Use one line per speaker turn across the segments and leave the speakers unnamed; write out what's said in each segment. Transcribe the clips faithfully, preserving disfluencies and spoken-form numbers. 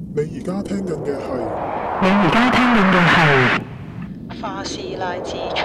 你而家聽緊嘅係，
你而家聽緊嘅係花師奶之隨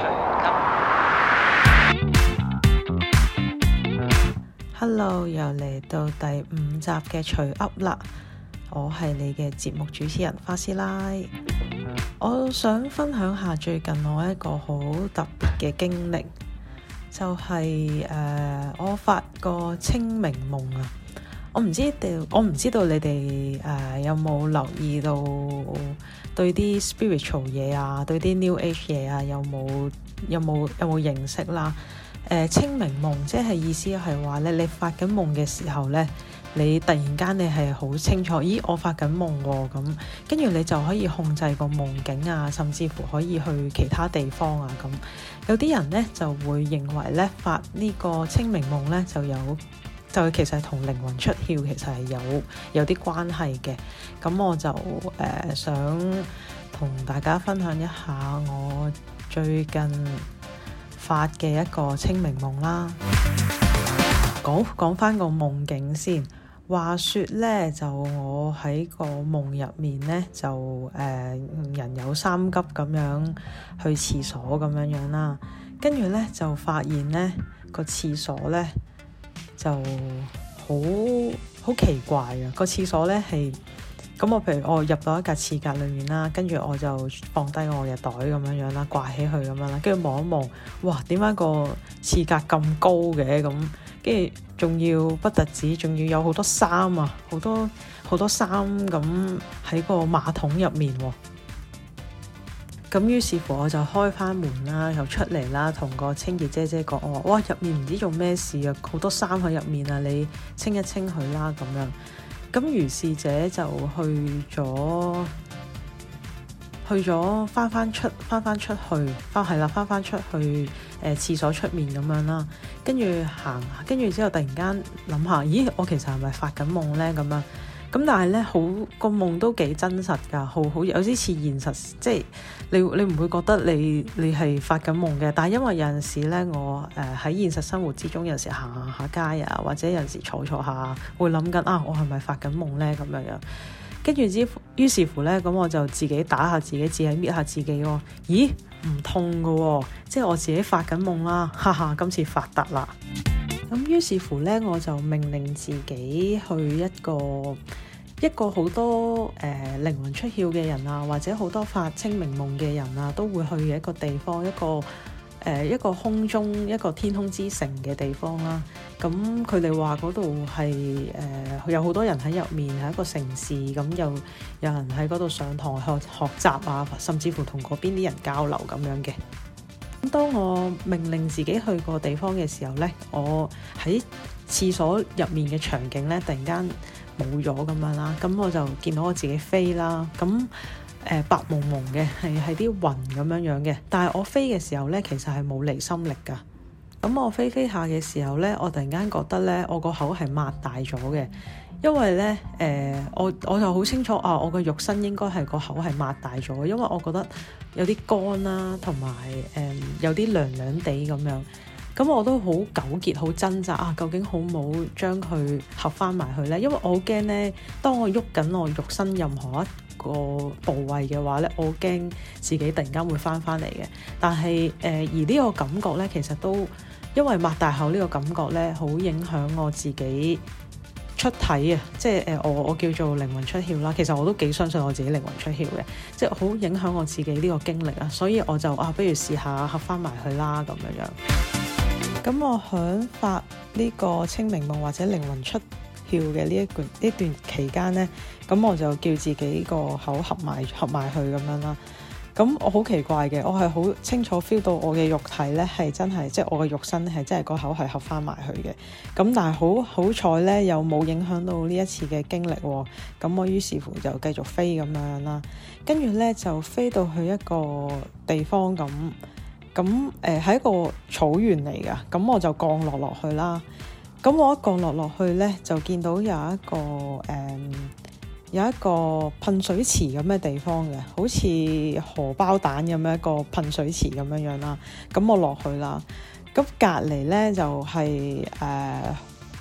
噏。Hello， 又嚟到第五集嘅隨噏啦，我係你嘅節目主持人花師奶。我想分享下最近我一個好特別嘅經歷，就係、是、誒、呃、我發個清明夢啊。我唔知道，我唔知道你哋誒、呃、有冇留意到對啲 spiritual 嘢啊，對啲 New Age 嘢啊，有冇有冇有冇認識啦？誒、呃、清明夢即係意思係話咧，你發緊夢嘅時候咧，你突然間你係好清楚，咦我發緊夢喎咁，跟住你就可以控制個夢境啊，甚至乎可以去其他地方啊咁。有啲人咧就會認為咧發呢個清明夢咧就有。就其實同靈魂出竅其實係有有啲關係嘅，咁我就誒、呃、想同大家分享一下我最近發嘅一個清明夢啦。講講返個夢境先，話說咧就我喺個夢入面咧就誒、呃、人有三急咁樣去廁所咁樣樣啦，跟住咧就發現咧個廁所咧就好好奇怪啊！個廁所咧係咁，我譬如我入到一架廁格裏面啦，跟住我就放低我嘅袋咁樣樣啦，掛起去咁樣啦，跟住望一望，哇！點解個廁格咁高嘅咁？跟住仲要不特止，仲要有好多衫啊，好多好多衫咁喺個馬桶入面喎。咁於是乎我就開翻門啦，又出嚟啦，同個清潔姐姐講，我話哇，入面唔知做咩事啊，好多衫喺入面啊，你清一清佢啦咁樣。咁如是者就去咗去咗翻翻出翻翻出去翻係啦翻翻出去誒、呃、廁所出面咁樣啦，跟住行跟住之後突然間諗下，咦我其實係咪發緊夢咧咁樣？咁但係咧，好個夢都幾真實㗎，好好有啲似現實，即係你你唔會覺得你你係發緊夢嘅。但係因為有陣時咧，我誒喺、呃、現實生活之中，有時行行下街啊，或者有陣時坐坐下，會諗緊啊，我係咪發緊夢咧咁樣樣？跟住之於是乎咧，咁我就自己打下自己，自己搣下自己喎。咦，唔痛㗎喎，即係我自己發緊夢啦，哈哈，今次發達啦！咁於是乎咧，我就命令自己去一個一個好多誒、呃、靈魂出竅嘅人啊，或者好多發清明夢嘅人啊，都會去嘅一個地方，一個誒、呃、一個空中一個天空之城嘅地方啦。咁佢哋話嗰度係誒有好多人喺入面，係一個城市，咁又有人喺嗰度上堂學學習啊，甚至乎同嗰邊啲人交流咁樣嘅。當我命令自己去個地方嘅時候呢，我喺廁所入面嘅場景呢，突然間冇咗咁樣啦，咁我就見到我自己飛啦，咁誒、呃、白蒙蒙嘅，係係啲雲咁樣樣嘅，但係我飛嘅時候呢，其實係冇離心力噶。咁我飛飛下嘅時候呢，我突然間覺得呢，我個口係擘大咗嘅。因為咧，誒、呃，我我就好清楚啊，我個肉身應該係個口係擘大咗，因為我覺得有啲乾啦，同埋誒有啲涼涼地咁樣，咁我都好糾結、好掙扎啊，究竟好冇將佢合翻埋去咧？因為我好驚咧，當我喐緊我肉身任何一個部位嘅話咧，我好驚自己突然間會翻翻嚟嘅。但係誒、呃，而呢個感覺咧，其實都因為擘大口呢個感覺咧，好影響我自己出體啊，即係誒、呃、我我叫做靈魂出竅啦。其實我都幾相信我自己靈魂出竅嘅，即係好影響我自己呢個經歷啊。所以我就啊，不如試下合翻埋去啦咁樣樣。咁我響發呢個清明夢或者靈魂出竅嘅呢一段呢段期間呢，咁我就叫自己個口合埋合埋去咁樣啦。咁我好奇怪嘅，我係好清楚 feel 到我嘅肉體咧係真係，即係我嘅肉身係真係個口係合翻埋去嘅。咁但係好好彩咧，又冇影響到呢一次嘅經歷喎。咁我於是乎就繼續飛咁樣啦。跟住咧就飛到去一個地方咁，咁誒係一個草原嚟噶。咁我就降落落去啦。咁我一降落落去咧，就見到有一個誒。嗯有一個噴水池咁嘅地方嘅，好似荷包蛋咁樣一個噴水池咁樣樣啦。咁我落去啦，咁隔離咧就係誒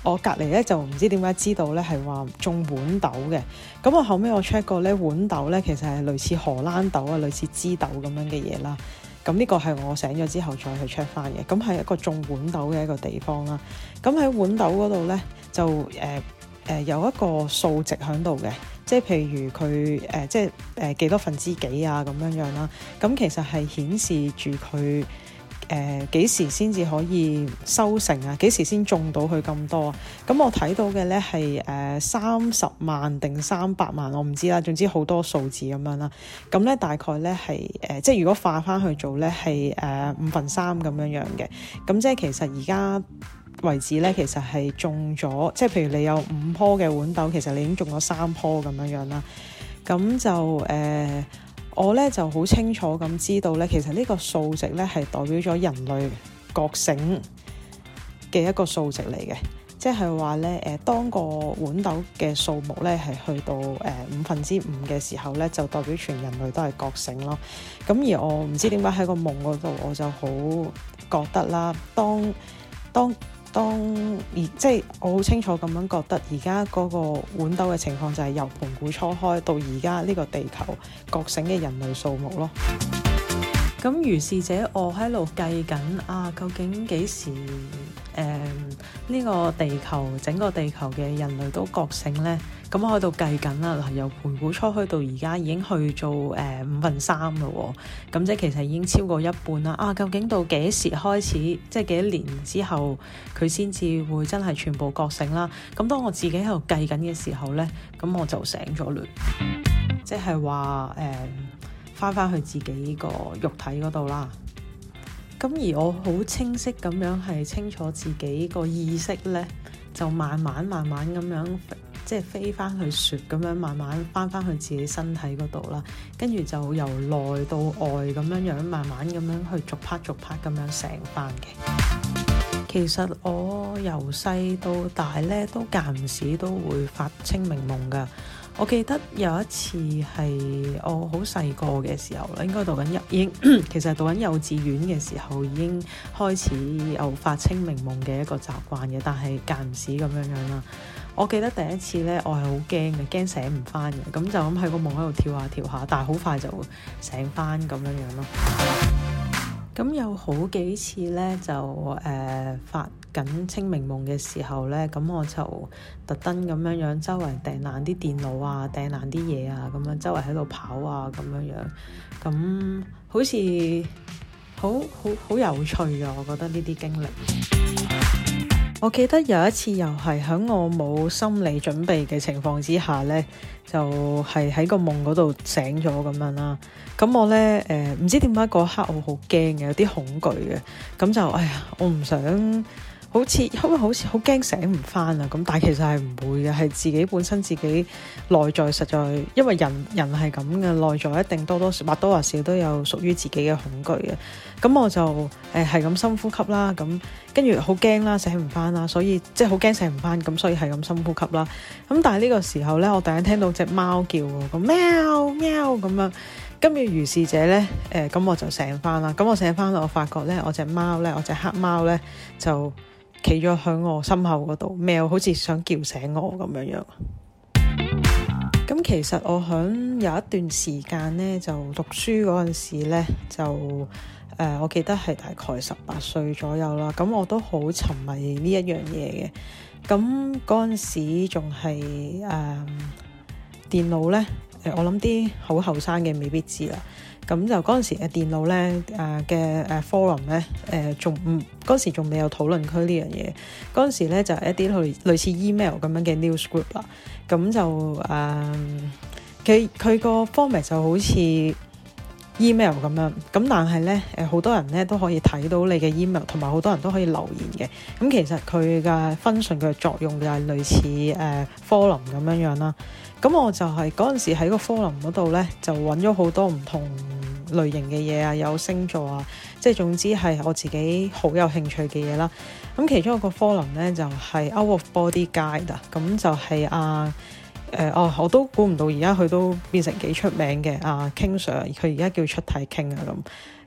我隔離咧就唔知點解知道咧係話種豌豆嘅。咁我後尾我 check 過咧，豌豆咧其實係類似荷蘭豆啊，類似枝豆咁樣嘅嘢啦。咁呢個係我醒咗之後再去 check 翻嘅。咁係一個種豌豆嘅一個地方啦。咁喺豌豆嗰度咧就誒誒、呃呃、有一個數值喺度嘅，即係譬如佢誒、呃、即係誒幾多分之幾啊咁樣樣啦。咁其實係顯示住佢誒幾時先至可以收成啊？幾時先種到佢咁多啊？咁我睇到嘅咧係誒三十萬定三百萬，我唔知啦。總之好多數字咁樣啦。咁咧大概咧係誒，即係如果化翻去做咧係誒五分三咁樣樣嘅。咁即係其實而家為止咧，其實係種咗，即係譬如你有五棵嘅豌豆，其實你已經種咗三棵咁樣樣啦。咁就誒。呃我咧就好清楚咁知道咧，其實呢個數值咧係代表咗人類覺醒嘅一個數值嚟嘅，即係話咧誒，當個豌豆嘅數目咧係去到誒、呃、五分之五嘅時候咧，就代表全人類都係覺醒咯。咁而我唔知點解喺個夢嗰度，我就好覺得啦，當當。當而即係我好清楚咁樣覺得，而家嗰個豌豆嘅情況就係由盤古初開到而家呢個地球覺醒嘅人類數目咯。咁如是者，我喺度計緊啊，究竟幾時誒呢、呃呢個地球整個地球嘅人類都覺醒呢？咁我喺度計緊啦，嗱，由盤古初開到而家已經去做誒、呃、五分三啦喎，咁即係其實已經超過一半啦。啊，究竟到幾時開始，即係幾多年之後佢先至會真係全部覺醒啦？咁當我自己喺度計緊嘅時候呢，咁我就醒咗嘞，即係話誒翻翻去自己個肉體嗰度啦。咁而我好清晰咁樣係清楚自己個意識呢，就慢慢慢慢咁樣。即係飛翻去雪咁樣，慢慢翻翻去自己身體嗰度啦，跟住就由內到外咁樣樣，慢慢咁樣去逐 part 逐 part 咁樣醒翻嘅。其實我由細到大咧，都間唔時都會發清明夢㗎。我記得有一次係我好細個嘅時候啦，應該讀緊幼已經其實讀緊幼稚園嘅時候已經開始有發清明夢嘅一個習慣嘅，但係間唔時咁樣樣啦。我記得第一次咧，我係好驚嘅，驚醒唔翻嘅，咁就咁喺個夢喺度跳下跳下，但係好快就醒翻咁樣樣咯。咁有好幾次咧，就誒、呃、發緊清明夢嘅時候咧，咁我就特登咁樣樣周圍掟爛啲電腦啊，掟爛啲嘢啊，咁樣周圍喺度跑啊，咁樣樣，咁好似好好好有趣㗎，我覺得呢啲經歷。我記得有一次又係喺我冇心理準備嘅情況之下呢，就係、是、喺個夢嗰度醒咗咁樣啦。咁我呢，誒、呃、唔知點解嗰刻我好驚嘅，有啲恐懼嘅。咁就哎呀，我唔想好似因為好似好驚醒唔返啊。咁但係其實係唔會嘅，係自己本身自己內在實在，因為人人係咁嘅，內在一定多多或多或少都有屬於自己嘅恐懼嘅。咁我就誒係咁深呼吸啦，咁跟住好驚啦，醒唔翻啦，所以即係好驚醒唔翻，咁所以係咁深呼吸啦。咁但係呢個時候咧，我突然聽到隻貓叫喎，咁喵喵咁樣，跟住如是者咧，誒、呃、咁我就醒翻啦。咁我醒翻啦，我發覺咧，我隻貓咧，我隻黑貓咧就企咗喺我心口嗰度，喵，好似想叫醒我咁樣樣。咁其實我響有一段時間咧，就讀書嗰陣時咧，就誒、呃，我記得係大概十八歲左右啦。咁我都好沉迷呢一樣嘢嘅。咁嗰陣時仲係誒電腦咧，誒我諗啲好後生嘅未必知啦。咁就嗰陣時嘅電腦咧，誒嘅誒 forum 咧，誒仲唔嗰時仲未有討論區呢樣嘢。嗰陣時咧就係、一啲類類似 email 咁樣嘅 news group 啦。咁就誒，佢佢個 format 就好似 email 咁樣。咁但係咧，誒好多人咧都可以睇到你嘅 email， 同埋好多人都可以留言嘅。咁其實佢嘅 function 嘅作用就係類似誒、呃、forum 咁樣樣啦。咁我就係嗰陣時喺個 forum 嗰度咧，就揾咗好多唔同類型嘅嘢啊，有星座啊，即係總之係我自己好有興趣嘅嘢啦。咁其中一個 forum 咧就係、是、Out of Body Guide 啊，咁就係啊誒哦，我都估唔到而家佢都變成幾出名嘅啊 King Sir，佢而家叫出體傾啊咁。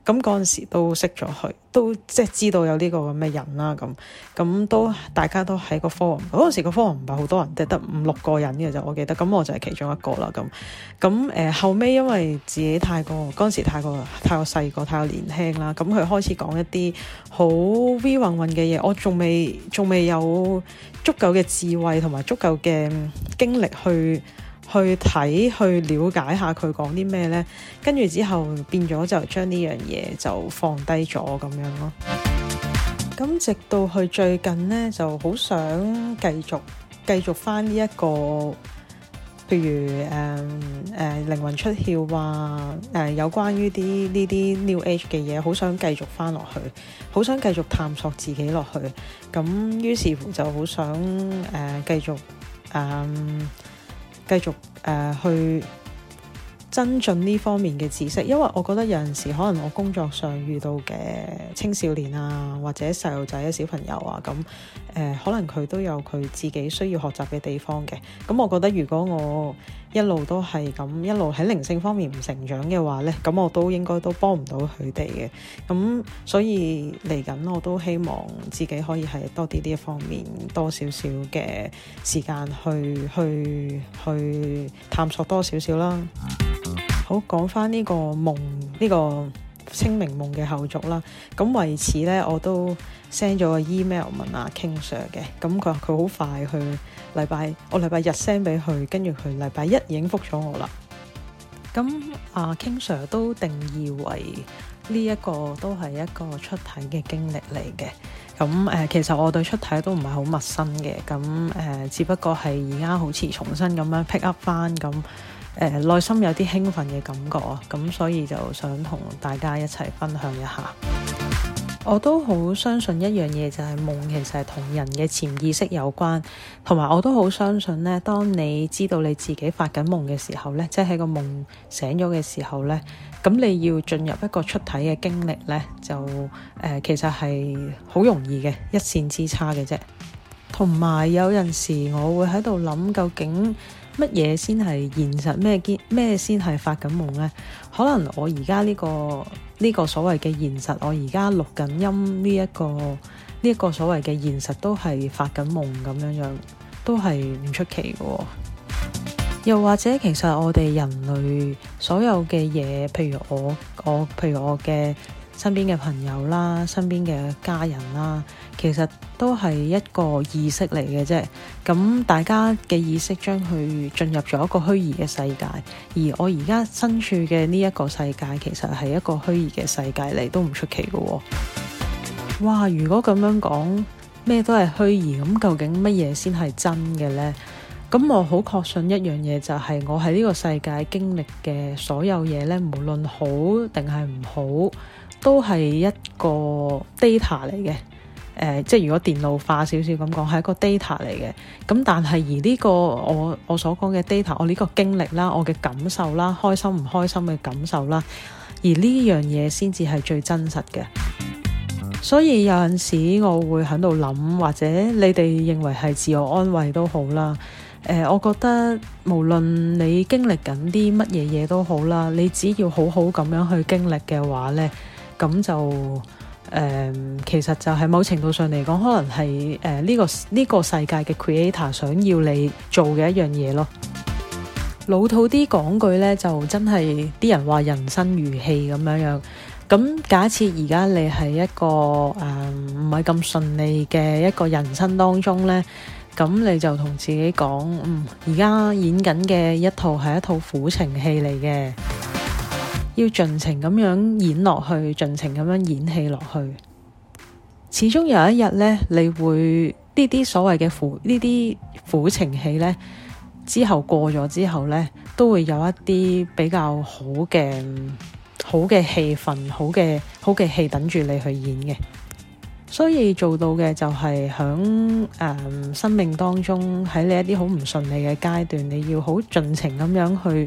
咁嗰陣時都識咗佢，都即係知道有呢個咁嘅人啦。咁咁都大家都喺個 forum 嗰陣時，個 forum 唔係好多人，得得五六個人嘅就我記得。咁我就係其中一個啦。咁咁誒後尾因為自己太過嗰陣時太過太過細個，太過年輕啦。咁佢開始講一啲好 V 混混嘅嘢，我仲未仲未有足夠嘅智慧同埋足夠嘅經歷去去睇去了解下佢講啲咩呢。跟住之後變咗就將呢樣嘢就放低咗咁樣咯。咁直到去最近呢，就好想繼續繼續翻呢一個，譬如誒誒、呃、靈魂出竅啊，誒、呃、有關於啲呢啲 New Age 嘅嘢，好想繼續翻落去，好想繼續探索自己落去。咁於是乎就好想誒、呃、繼續誒。呃繼續誒、呃、去增進呢方面嘅知識，因為我覺得有陣時可能我工作上遇到嘅青少年啊，或者細路仔、小朋友啊，咁誒、呃、可能佢都有佢自己需要學習嘅地方嘅。咁我覺得如果我一路都係咁一路喺靈性方面唔成長嘅話呢，咁我都應該都幫唔到佢哋嘅。咁所以嚟緊我都希望自己可以係多啲呢一方面多少少嘅時間去去去探索多少少啦。好，講翻呢個夢呢、呢個清明夢嘅後續啦。咁為此呢，我都 send 咗個 email 問阿 King Sir 嘅。咁佢話佢好快去禮拜，我禮拜日 send 俾佢，跟住佢禮拜一已經覆咗我啦。咁阿 King Sir 都定義為呢一個都係一個出體嘅經歷嚟嘅。咁誒、呃，其實我對出體都唔係好陌生嘅。咁誒、呃，只不過係而家好似重新咁樣 pick up 翻咁。誒、呃、內心有啲興奮嘅感覺啊，咁所以就想同大家一齊分享一下。我都好相信一樣嘢，就係夢其實係同人嘅潛意識有關，同埋我都好相信呢，當你知道你自己發緊夢嘅時候呢，即係喺個夢醒咗嘅時候呢，咁你要進入一個出體嘅經歷呢，就誒、呃、其實係好容易嘅，一線之差嘅啫。同埋有陣時我會喺度諗，究竟乜嘢先係現實？咩堅咩先係發緊夢呢？可能我而家呢個呢、呢個所謂嘅現實，我而家錄緊音呢、呢、一個呢一、呢個所謂嘅現實都係發緊夢咁樣樣，都係唔出奇嘅。又或者其實我哋人類所有嘅嘢，譬如我我譬如我嘅身邊嘅朋友啦，身邊嘅家人啦，其實都係一個意識嚟嘅啫。咁大家嘅意識將佢進入咗一個虛擬嘅世界，而我而家身處嘅呢一個世界，其實係一個虛擬嘅世界嚟，都唔出奇嘅喎。哇！如果咁樣講，咩都係虛擬，咁究竟乜嘢先係真嘅呢？咁我好確信一樣嘢，就係我喺呢個世界經歷嘅所有嘢呢，無論好定係唔好，都係一個 data 嚟嘅。誒、呃，即係如果電腦化少少咁講，係一個 data 嚟嘅。咁但係而呢個我我所講嘅 data，我呢個經歷啦，我嘅感受啦，開心唔開心嘅感受啦，而呢樣嘢先至係最真實嘅。所以有陣時我會喺度諗，或者你哋認為係自我安慰都好啦。誒、呃，我覺得無論你經歷緊啲乜嘢嘢都好啦，你只要好好咁樣去經歷嘅話呢，咁就誒、呃，其實就係某程度上嚟講，可能係誒呢個呢、呢個世界嘅 creator 想要你做嘅一樣嘢咯。老土啲講句呢，就真係啲人話人生如戲咁樣樣。咁假設而家你係一個誒唔係咁順利嘅一個人生當中呢，咁你就同自己講，嗯，而家演緊嘅一套係一套苦情戲嚟嘅，要盡情咁樣演落去，盡情咁樣演戲落去。始終有一日呢，你會呢啲所謂嘅苦呢啲苦情戲呢，之後過咗之後呢，都會有一啲比較好嘅好嘅氣氛，好嘅好嘅戲等住你去演嘅。所以做到嘅就係響誒生命當中，喺你一啲好唔順利嘅階段，你要好盡情咁樣去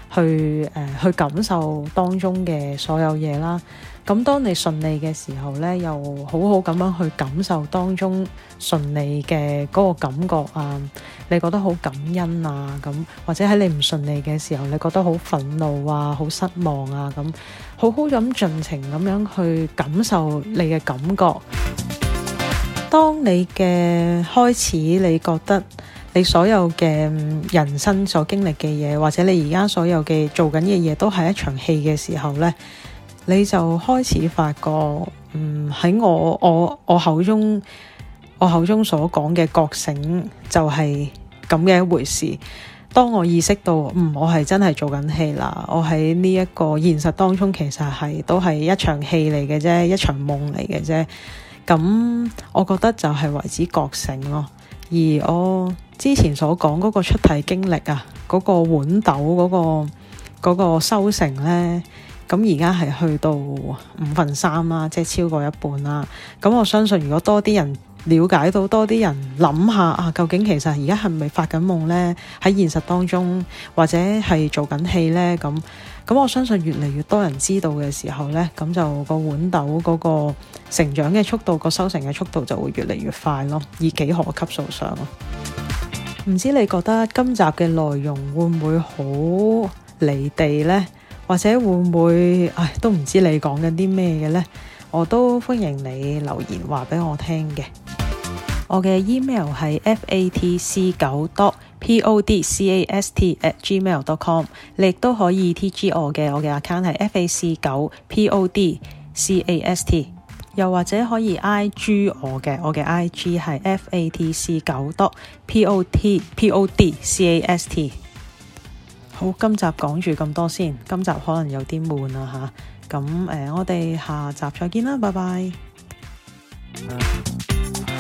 去誒、呃、去感受當中嘅所有嘢啦。咁當你順利嘅時候咧，又好好咁樣去感受當中順利嘅嗰個感覺啊，你覺得好感恩啊，咁或者喺你唔順利嘅時候，你覺得好憤怒啊，好失望啊，咁好好咁盡情咁樣去感受你嘅感覺。當你嘅開始，你覺得你所有嘅人生所經歷嘅嘢，或者你而家所有嘅做緊嘅嘢都係一場戲嘅時候呢，你就開始發覺，嗯，喺我我我口中我口中所講嘅覺醒就係咁嘅一回事。當我意識到，嗯，我係真係做緊戲啦，我喺呢一個現實當中其實係都係一場戲嚟嘅啫，一場夢嚟嘅啫。咁我覺得就係為之覺醒咯。而我之前所講嗰個出體經歷啊，嗰個豌豆嗰個嗰個收成呢，咁而家係去到五分三啦，即係超過一半啦。咁我相信如果多啲人了解到，多啲人諗下啊，究竟其實而家係咪發緊夢呢？喺現實當中或者係做緊戲呢？咁咁我相信越嚟越多人知道嘅時候呢，咁就個豌豆嗰個成長嘅速度，個收成嘅速度就會越嚟越快咯，以幾何級數上咯。唔知你覺得今集嘅內容會唔會好離地呢？或者會唔會唉都唔知你講緊啲咩嘅呢？我都歡迎你留言話俾我聽嘅。我嘅 email 係 f a t c 九 dot p o d c a s t at gmail dot com， 你亦都可以 T G 我嘅，我嘅 account 係 f a c 九 p o d c a s t， 又或者可以 I G 我嘅，我嘅 I G 係 f a t c 九 dot p o d p o d c a s t。 好，今集講住咁多先，今集可能有啲悶啊吓，咁誒、呃，我哋下集再見啦，拜拜。